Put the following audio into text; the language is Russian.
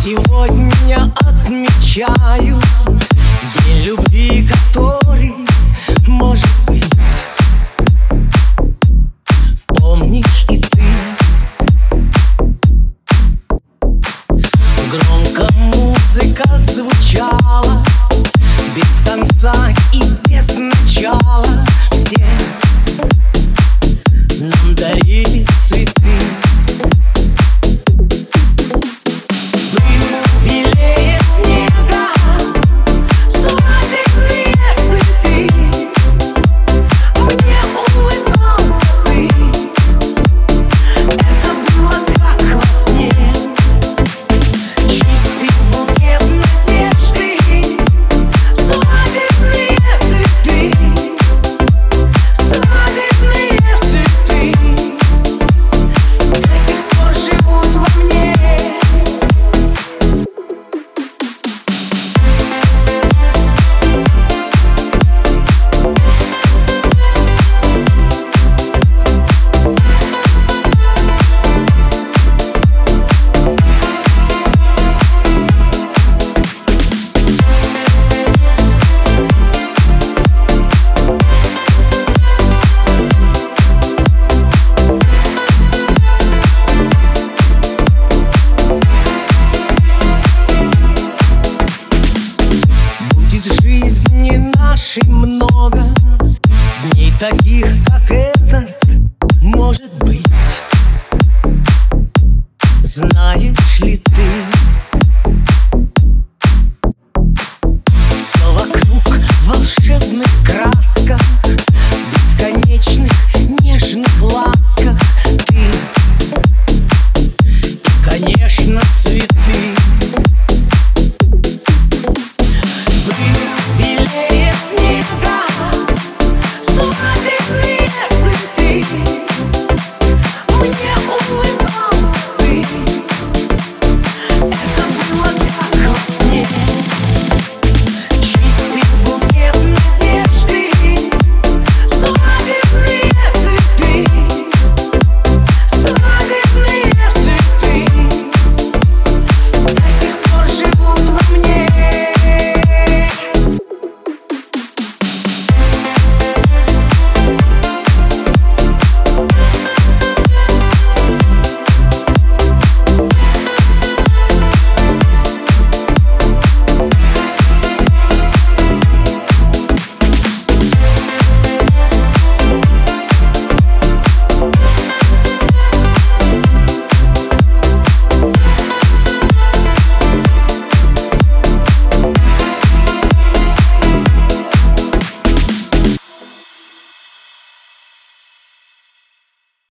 Сегодня отмечаю день любви, который, может быть, помнишь и ты. Громко музыка звучала, без конца и без начала. Все нам дарили цветы. Много дней таких, как этот, может быть. Знаешь ли ты, все вокруг в волшебных красках, бесконечных нежных ласках. Ты, и, конечно,